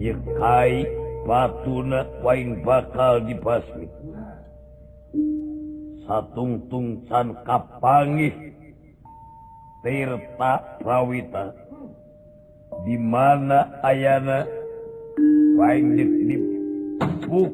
yekai batuna waing bakal dibasmi satungtung can kapangih Tirta Prawita di mana ayana waing dipuk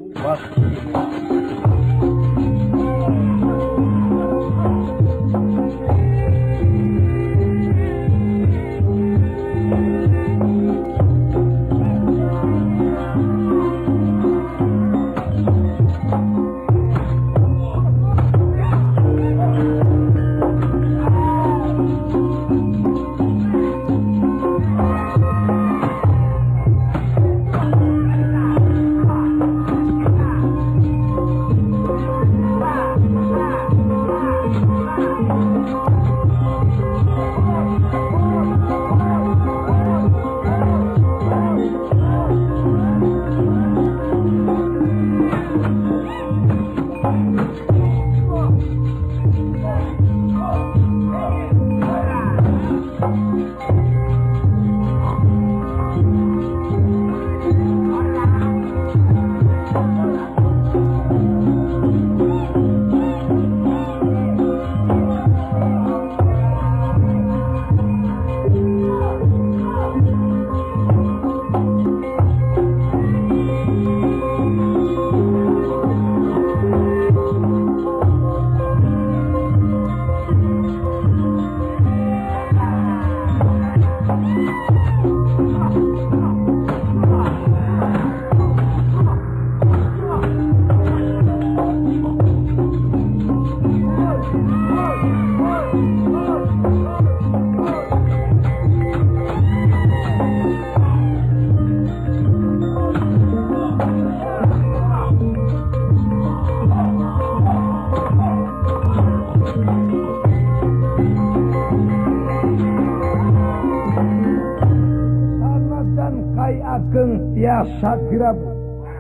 tiasa dirabu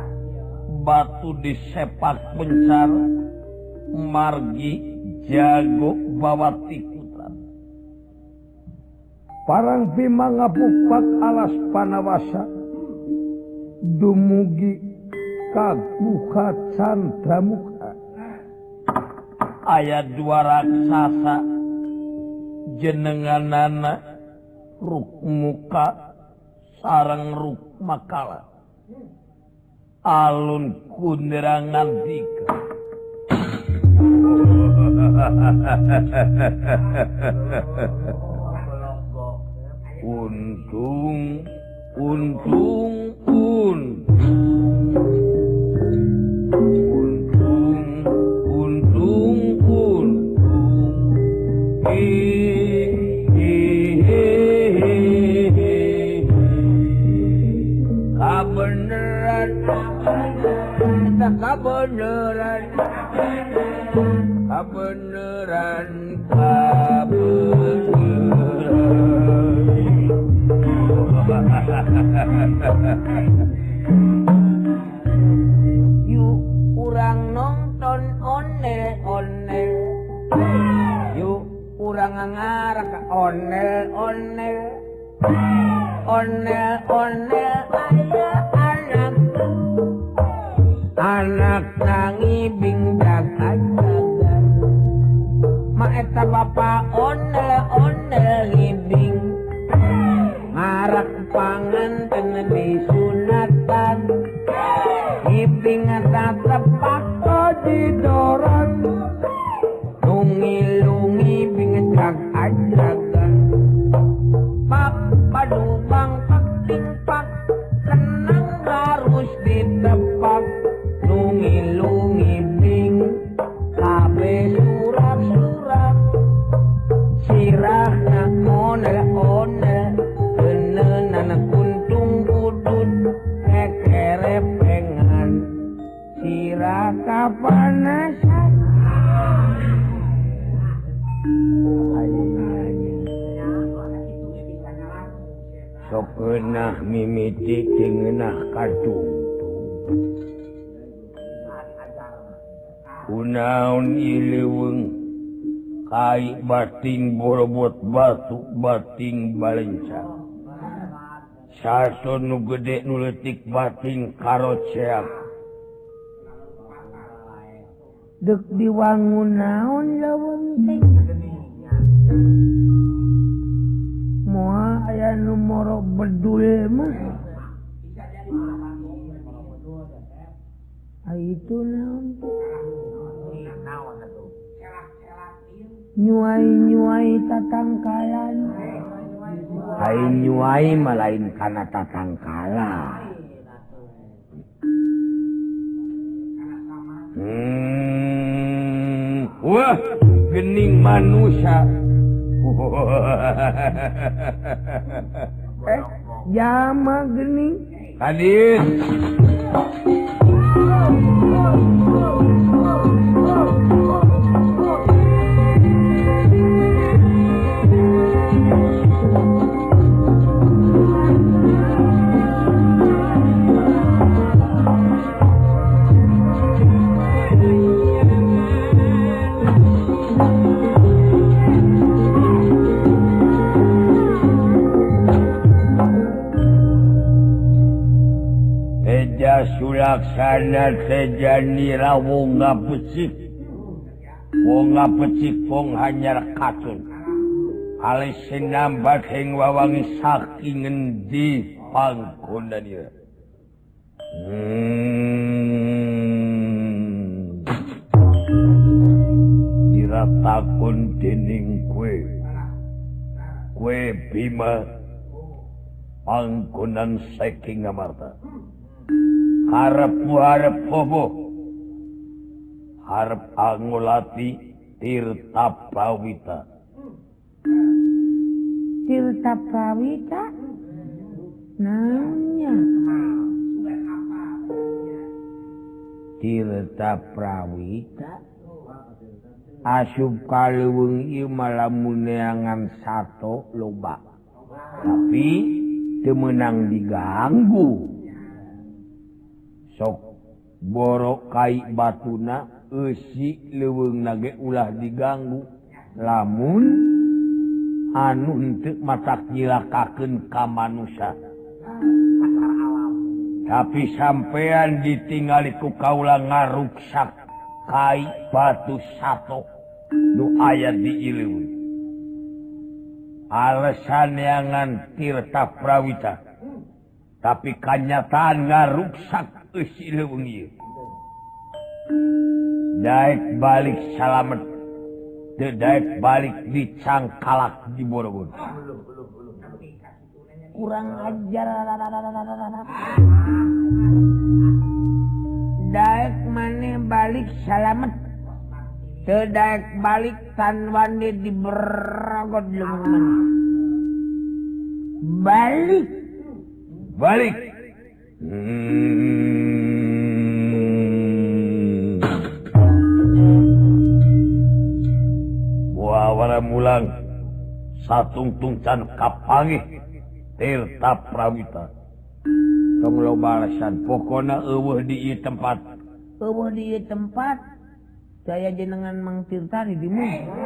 batu disepak pencar margi jago bawa tikutan parang bima ngabupak alas panawasa dumugi kaguha candramuka ayat dua raksasa jenenganana ruk muka sarang ruk makala alun kunderangan dika untung kebenaran yuk urang nonton onel yuk urang ngarang onel anak nangibing jaga-jaga maeta bapak onel ngibing ngarak panganten disunatan ngibing tepak didorong lungi bing jaga-jaga pak padubang pak tingpak tenang harus ditepak lungi bing kabe surat sirah na onel kenenan kuntung udut kekerepengan sirah kapanasan sok eunah mimiti jeung kadung kunaon iliweung kai bating borobot batu bating balencang Satu nu gede nu leutik bating karo ceak. Dek diwangun naon lawan teh. Moal aya nu moro bedul mah. Itu naon tuh? Nyuai tatangkalan. Ai nyuai malain kana tatangkala. Wah, gening manusia. Jama gening. Hadis. Sulaksana sejani wong ngapecik. Wong ngapecik wong hanyar kacun. Alis sinambat hing wawangi saking endi pangkonan ieu. Diratakun dening kue Bima pangkonan saking Ngamarta. Harap bobo, harap angulati Tirta Prawita. Tirta Prawita? Nanya. Tirta Prawita? Asup kaleuweung ieu malamun neangan sato loba. Tapi teu meunang diganggu. Sok borok kai batuna eusi leuweungna ge ulah diganggu lamun anu henteu matak nyilakakeun ka manusia. Tapi sampean ditingali ku kaula ngaruksak kai batu sato nu aya di ileuweung. Alasan neangan Tirta Prawita. Tapi kanyataan ngaruksak eusi leuweung ieu. Daek balik salamet, teu daek balik dicangkalak di Borogon. Kurang ajar. Daek maneh balik salamet, teu daek balik tan wande di Borogon leungeun. Balik. Wawara mulang satungtung can kapangih Tirta Prawita. Tong loba alasan pokona eueuh di ieu tempat. Eueuh di ieu tempat. Saya jenengan Mang Tirta di dieu.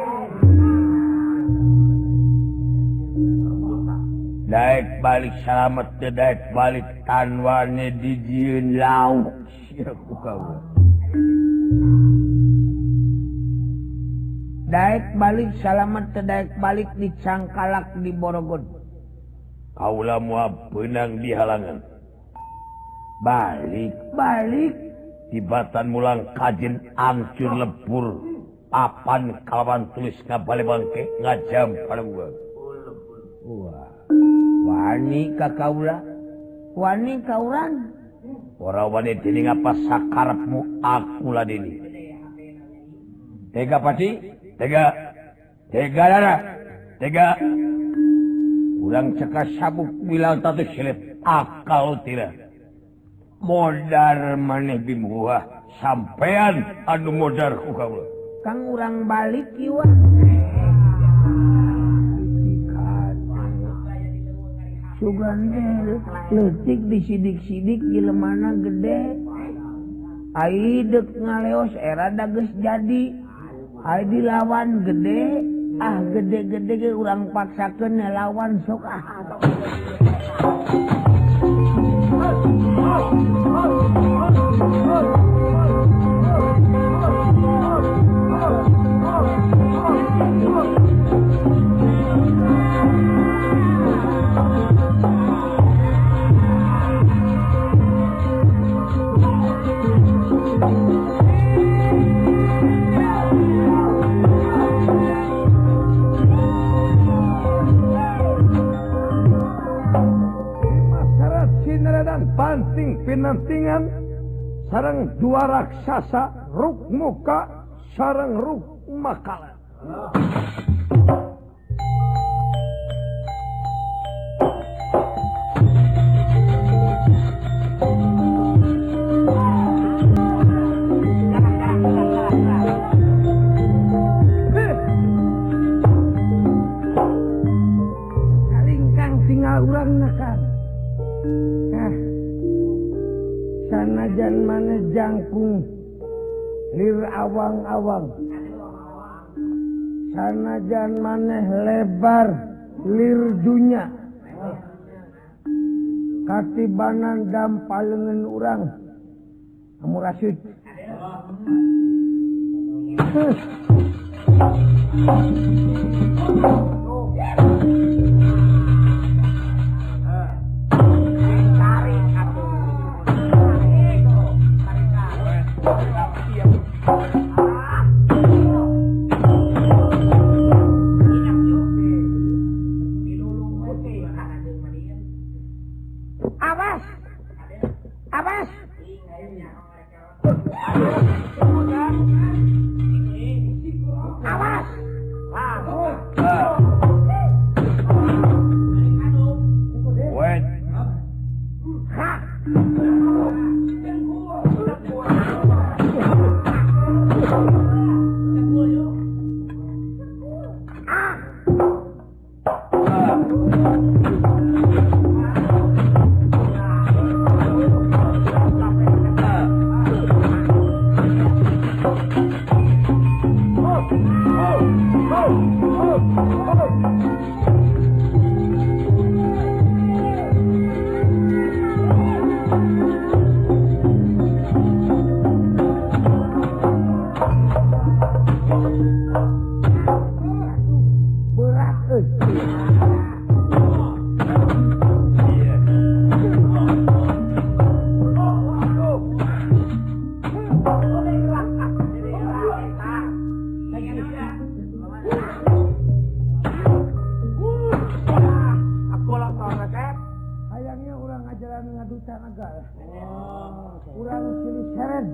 Daek balik salamet teu daek balik tanwane dijieun lauk sia ku kaula. Daek balik salamet teu daek balik dicangkalak di Borogon. Kaula moal beunang di halangan. Balik tibatan mulang kajen ancur lebur papan kalawan tulis ngabale bangke ngajam palembuang. Wah. Wani ka kaula, wani ka urang. Ora wani dening apa sakarepmu aku ladeni. Tega pati, tega dara, tega. Urang cekas sabuk bilang tatu silet akal tira. Modar maneh bimuah sampean anu modar ku kaula. Kang urang balik ieu. Sugan leutik disidik-sidik jelemana gede. Ai deuk ngaleos era da geus jadi. Ai dilawan gede, gede-gede ge urang paksakeun lawan sok Pinantingan sareng dua raksasa Ruk Muka sareng Ruk Makala. Kalingkang tinggal urang nakar. Sanajan mana jangkung lir awang-awang, sanajan mana lebar lir dunya, katibanan dampalengan urang amurasyid. Awas, awas. Awas. Wait. Hayangnya orang ajaran ngaduta negara. Urang silih seret.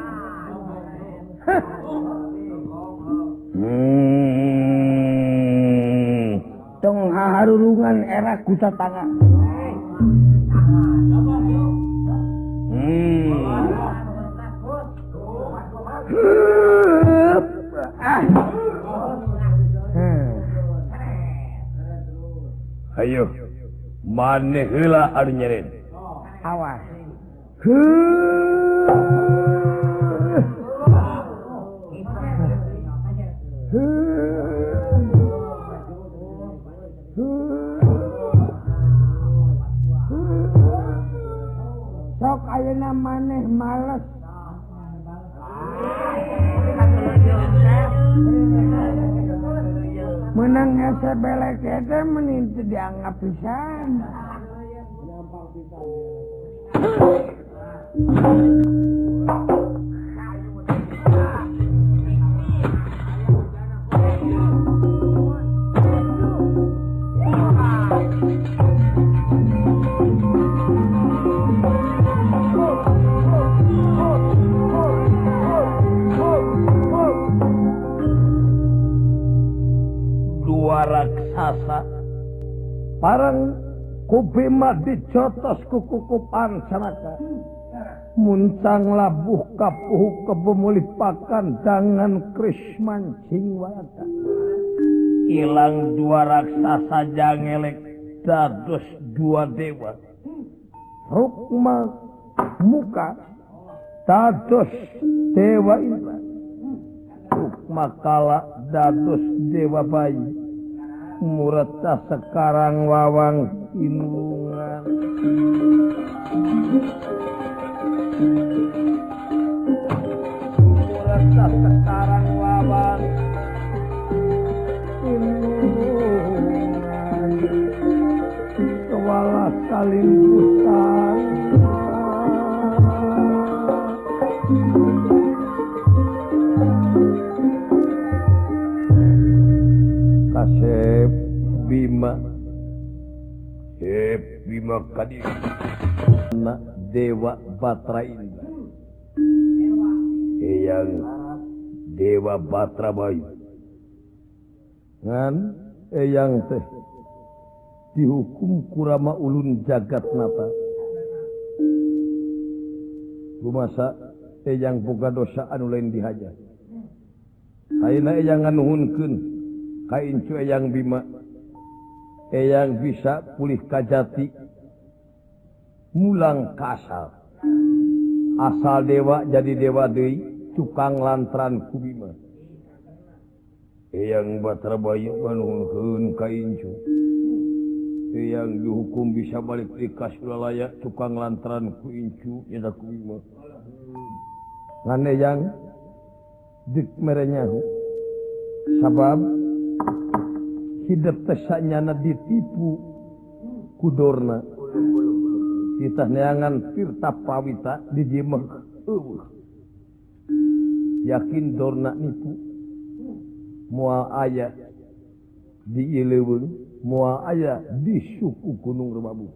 Tong haharurungan era kuta tanga. Ayo, maneh heula anu nyeren. Awas. Sok ayeuna maneh males. Menang ese belek teh meni teu dianggap pisan. Dua raksasa Parang kubima dicotos kukukupan sanaka. Muncang labuh kapuh kebemulipakan dangan krisman cingwata. ilang dua raksasa jangelek dados dua dewa. Rukma Muka dados dewa Indra. Rukma Kala dados dewa bayi. Murata sekarang wawang inungan. Rasa sekarang lawan Kewala saling pusat Kasep Bima Bima Kadi Dewa Batra Indra Eyang Dewa Batra Bayu ngan eyang teh dihukum kurama ulun jagat nata rumasa eyang boga dosa anu lain dihaja kaina eyang nganuhunkeun ka incu eyang Bima eyang bisa pulih kajati mulang kasal asal dewa jadi dewa deui tukang lantran ku Bima Eyang Batra Bayu nganuhunkeun ka incu eyang dihukum bisa balik di Kasulalaya tukang lantran ku incu nyata ku Bima ngan eyang dik merenyahu sabab hidup tesanyana ditipu kudorna kita neangan Tirta Pawita dijimeh yakin dorna nipu moal aya di Ileweung moal aya di suku Gunung Remabu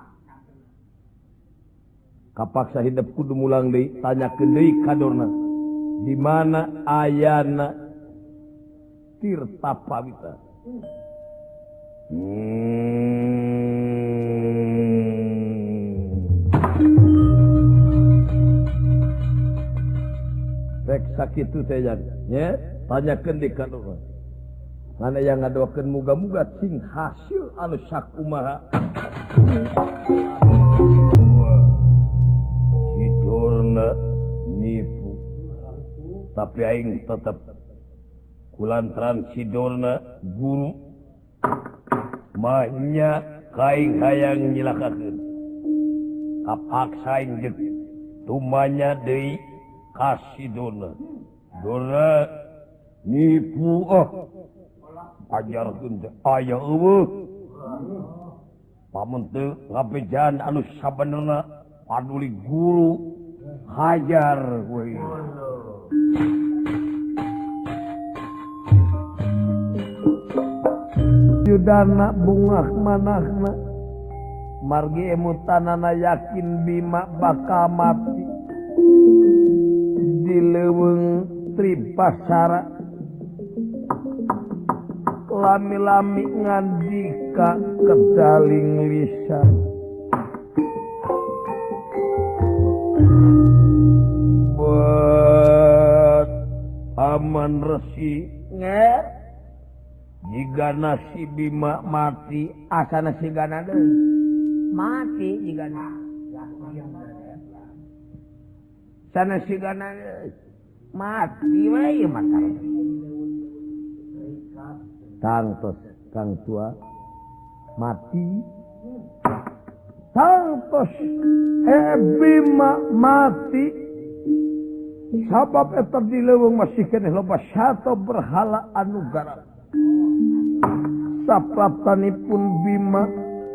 kapaksa hidup kudu mulang deui tanyakeun deui ka dorna di mana ayana Tirta Pawita rek sakitu teh nya tanyakeun di ka dorna mana yang ngadoakeun muga-muga sing hasil anu sakumaha Sidorna nipu tapi aing tetep kulantran Sidorna guru mahnya kaing hayang nyilakakeun kapaksa aing deuk tumanya deui ka Sidorna Dorna nipu ajarkeun teh aya eueuh pamun teu ngabejaan anu sabenerna paduli guru hajar we Yudana bungah manahna margi emutanana yakin Bima bakal mati di leuweung Tripasara lami-lami ngandika kedaling lisan buat aman resi Nge jika nasi Bima mati asana sigana deui mati jigana. sana sigana deui Mati wae matar. tangtos kang tua mati tangtos Bima mati sabab eta di leuweung masih keneh loba sato berhala anu garang sapraptanipun Bima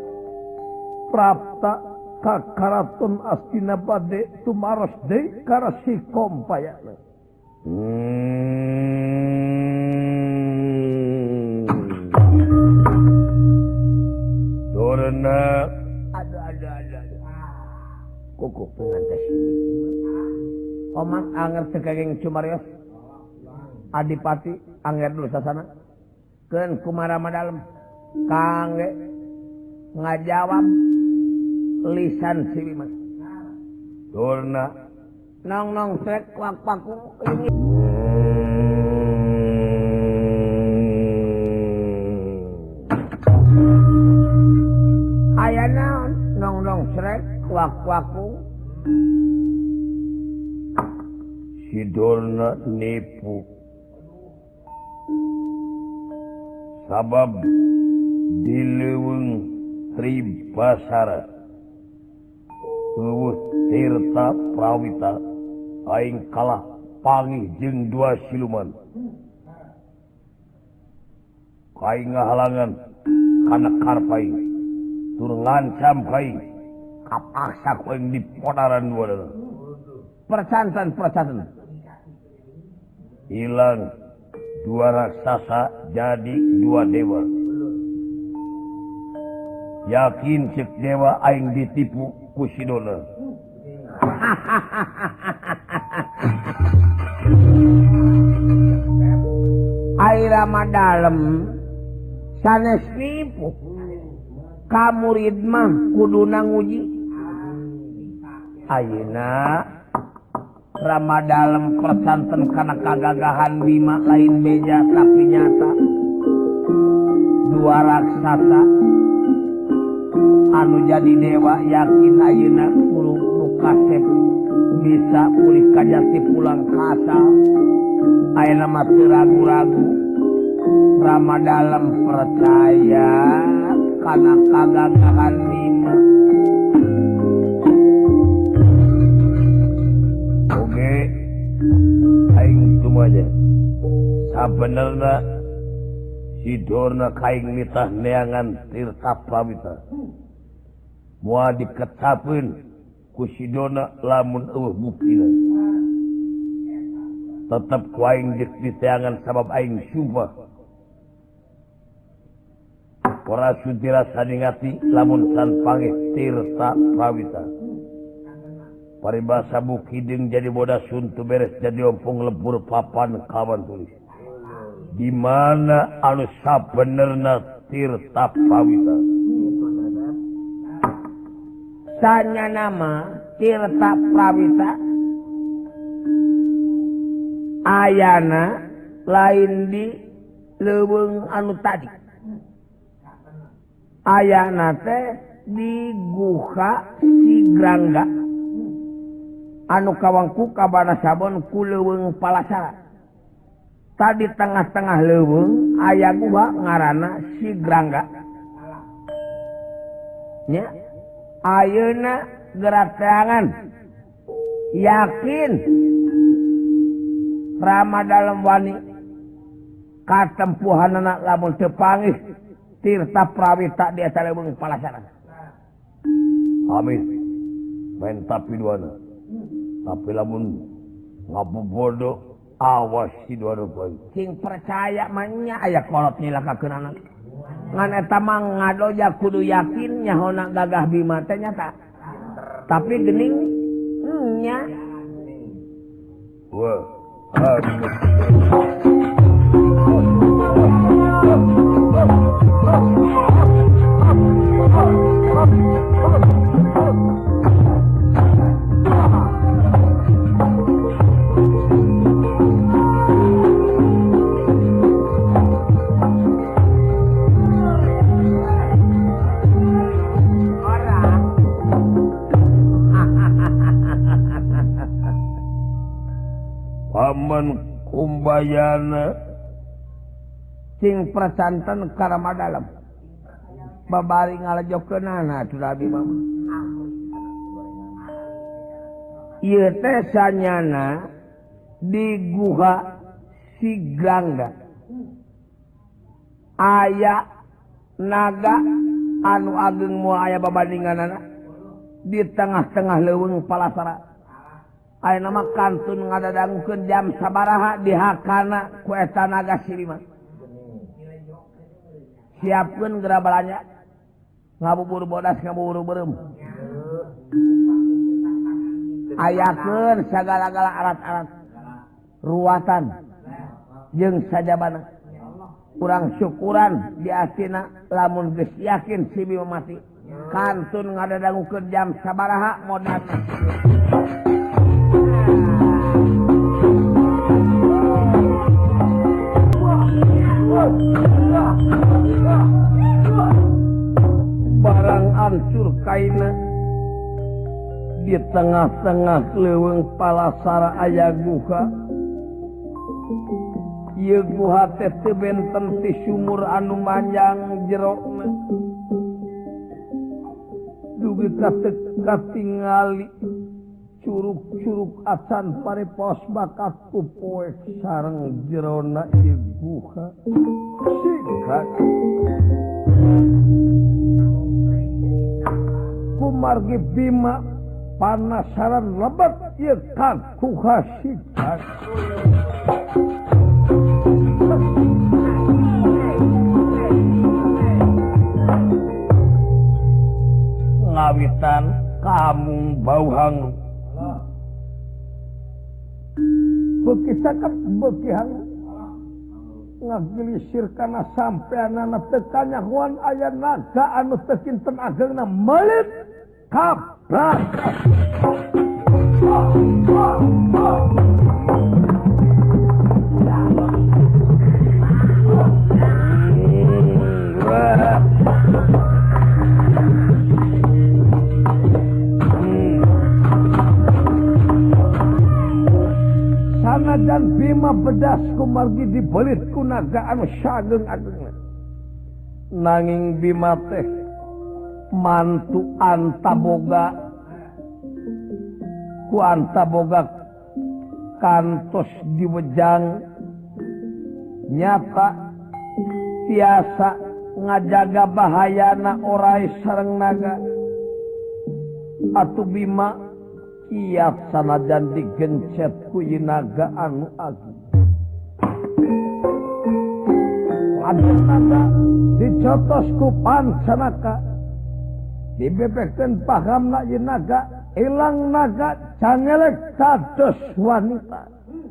prapta ka karaton Astina bade tumaros deui ka Resi Kompayana Dorna Aduh. kuku Pengantes ini. Omak anger sekegeng Cumarios. Adipati anger dulu sasana. Keun kumarama dalem. Kangge ngajawab lisan si Bima. Dorna Nong srek wak paku ini. Aya naon nong srek wak paku. Sidorna nipu sabab di leuweung Tripasara Tirta Prawita aing kalah pangih jeung dua siluman kaing ngahalangan kana karpai tur ngancam kaing kapaksa ku aing dipodaran dua percantan hilang dua raksasa jadi dua dewa yakin cek dewa aing ditipu ku Sidona air dalem sanes nipu kamurid mah kuduna nguji ayeuna Ramadalem persanten kana kagagahan Bima lain beja tapi nyata dua raksasa anu jadi dewa yakin ayeuna kudu kasep bisa pulih kajati pulang kasal ayeuna mah teu ragu-ragu Ramadalem percaya kana kagagahan Bima oge aing tumaja sabenerna Sidorna kaing mitah neangan Tirta Prawita moal diketapeun ku Sidona lamun eueuh buktina tetep ku aing geus diteangan sabab aing sumpah ora sudira saningati lamun san pangeh Tirta Prawita paribasa bukideng jadi bodas suntu beres jadi ompong lebur papan kawan tulis di mana anu sabenerna Tirta Prawita sanya nama Tirta Prawita ayana lain di leuweung anu tadi ayana teh di Guha Sigrangga anu kawangku kabana sabon ku leuweung Palasara tadi tengah-tengah leuweung aya guha ngaranna Sigrangga nya ayeuna gerak teangan yakin Ramadalem wani katempuhanana lamun teu pangih Tirta Prawita di eta leuweung Palasara amin main tapi duana tapi lamun ngabobodo awas si duana poe sing percaya mah nya aya kolot nyilakakeun anak ngan eta mah ngadoja kudu yakin nyahona gagah Bima teh nyata tapi geuning nya wah paman kumbayana sing percanten ka Ramadalem babari ngalajokeunana atuh Abi mama ieu teh sanyana di Guha Sigrangga aya naga anu ageng moal aya babandinganana di tengah-tengah leuweung Palasara aya nama kantun ngadadangkeun jam sabaraha dihakana ku eta naga silima siapkeun geura balanja ngabubur bodas ngabubur beureum ayakeun sagala-gala alat-alat ruwatan jeung sajabana urang syukuran di asina lamun geus yakin si Bima mati kantun ngadadangkeun jam sabaraha modal barang ancur kaina di tengah-tengah leuweung Palasara aya guha ieu guha teh teu benten ti sumur anu manjang jerona dugi katingali curug-curug acan parepaos bakat ku poek sareng jerona ieu guha sikat kumargi Bima panasaran lebat ieu kaguha sikat ngawitan kamung bauhang beuki cakep beuki hang ngagilisir kana sampeanana teu kanyahoan aya naga anu teu kinten ageungna melit kabrak sanajan Bima bedas kumargi dibelit ku naga anu sageung-ageungna nanging Bima teh mantu antaboga ku antaboga kantos diwejang nyata tiasa ngajaga bahayana orai sareng naga atuh Bima kiat sanajan digencet ku ieu naga anu agung lamun naga dicotos ku pancanaka dibebekkeun pahamna ieu naga ilang naga cangelek kados wanita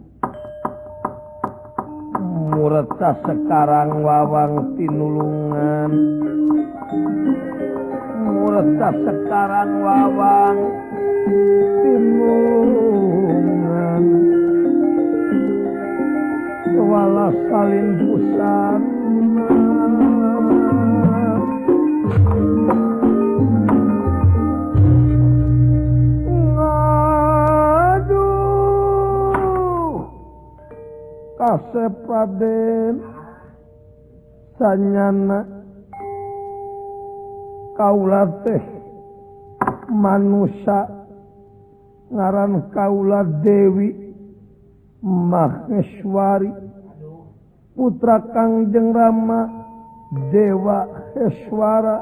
mureta sekarang wawang tinulungan mureta sekarang wawang tinulungan wala salin busan Kasep Raden sanyana kaula teh manusia ngaran kaula Dewi Maheswari putra Kangjeng Rama Dewa Heswara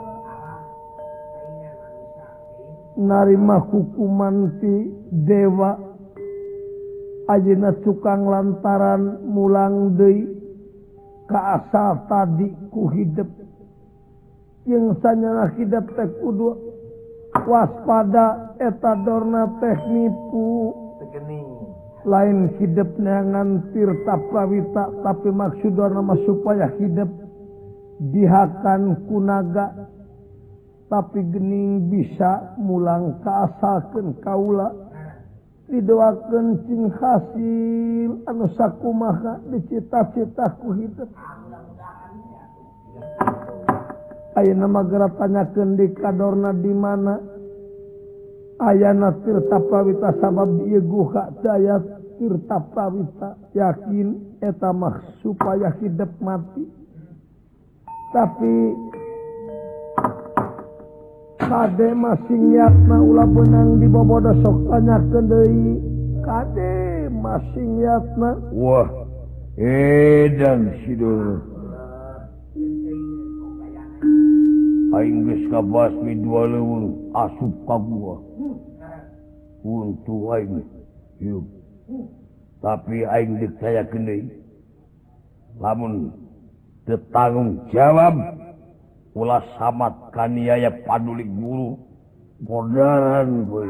narima hukuman ti Dewa ayeuna cukang lantaran mulang deui ka asal tadi ku hidup yang sanyana hidup teh kudu waspada eta dorna teh nipu lain hidup neangan tirta prawita tapi maksudna mah supaya hidup dihakan kunaga tapi gening bisa mulang kaasalkeun kaula didoakeun cing hasil anu sakumaha dicita-cita ku hidup ayeuna mah geura tanyakeun di kadorna di mana ayana tirta prawita sabab ieu guha daya tirta prawita yakin eta mah supaya hidup mati tapi kade masih niatna ulah benang di bobodo sok tanyakeun deui kade masih niatna wah edan sidul aing geus kabasmi dua leuweung asup ka gua untuk aing yuk tapi aing dipercayakeun deui lamun teu tanggung jawab ulah samat kaniaya padulik guru bodaran boy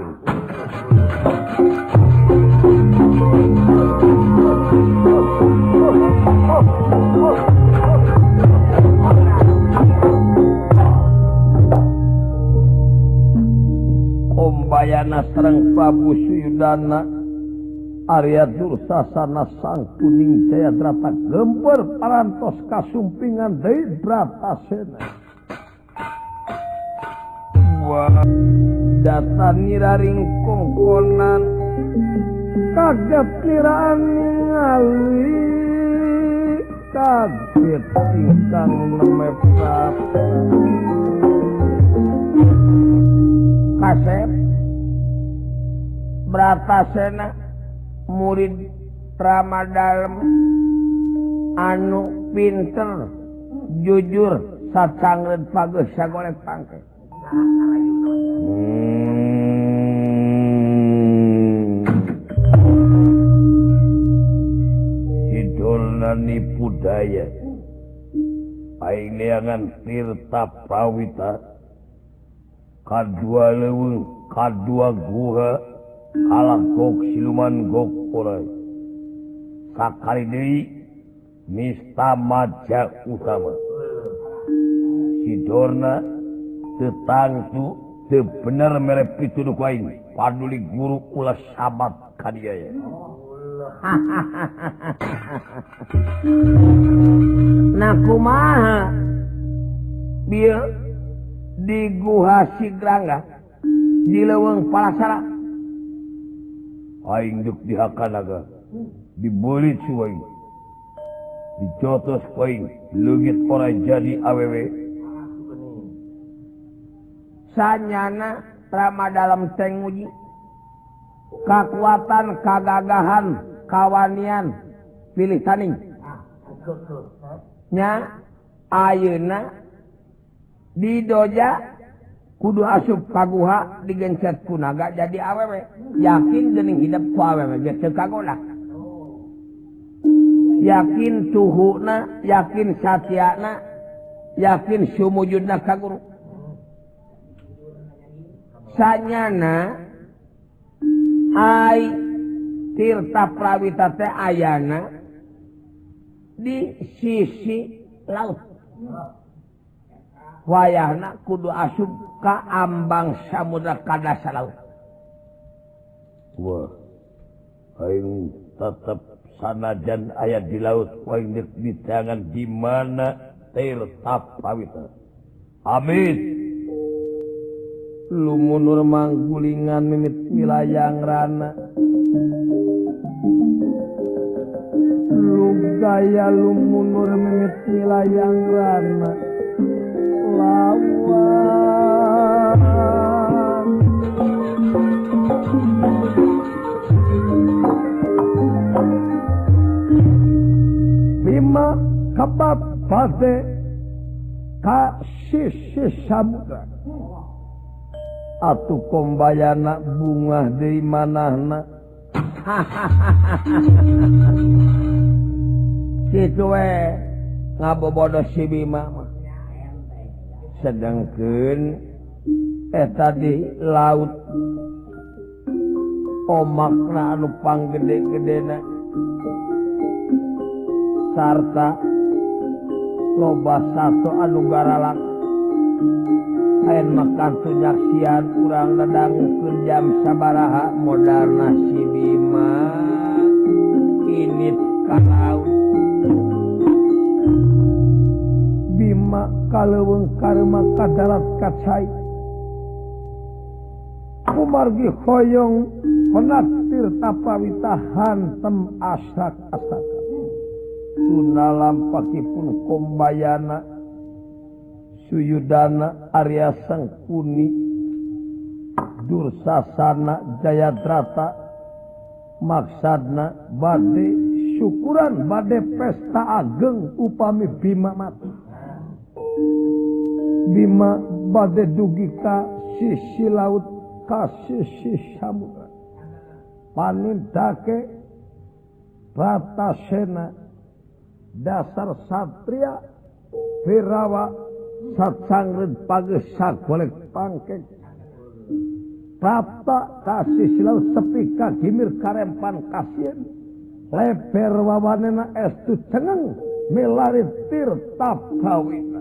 ombayana sareng Prabu Suyudana Arya Dursasana sang kuning jaya drata gemper parantos kasumpingan deui Bratasena data niraring kongkonan kaget kiraan ningali kaget ingkang nemeprat Kasep Bratasena murid Ramadalem anu pinter jujur sacangreud pageus sagolek pangke Sidolna nipu daya aing neangan Tirta Prawita kadua leuweung kadua guha kalagok siluman gok orai sakali deui nista maja utama sidorna tetangtu teu bener mere pituduh ku aing paduli guru ulah sabat ka dieu ya nah kumaha bieu di guha Sigrangga di leuweung Palasara aing duk dihakanaga dibulit su aing dijotos ku aing leungit ora jadi awewe sanyana Ramadalem teh nguji kakuatan kagagahan kawanian pilih taning nya ayeuna di doja kudu asup kaguha digencet ku naga jadi awewe yakin geuning hidup ku awewe geus teu kagoda yakin tuhuna yakin satyana yakin sumujudna ka guru sanyana ai Tirta Prawita teh ayana di sisi laut wayahna kudu asup ka ambang samudra ka dasar laut wah aing tetep sanajan aya di laut aing di tangan di mana Tirta Prawita amit lumunur manggulingan mimit milayang rana lugaya lumunur mimit milayang rana lawan Bima kapat pade ka sisi samudra atuh kombayana bunga deui manahna kitu we ngabobodo si Bima mah sedengkeun eta di laut omakna anu panggede-gedena sarta loba satu anu garalak ayen makan tunyaksian urang dadangkeun jam sabaraha modalna si Bima init ka laut Bima kaleuweung karema ka darat ka cai kumargi hoyong menat Tirta Prawita hantem asak-asaka tuna lampakipun kombayana Suyudana Arya Sangkuni Dursasana Jayadrata maksadna bade syukuran bade pesta ageng upami Bima mati Bima bade dugi ka sisi laut ka sisi samudra panindake Bratasena dasar satria Wirawa sacangreud pageus sagolek pangkeng Prapta kasih silau sepi ka gimir karempan kasieun leber wawanena estu cengeng milari Tirta Prawita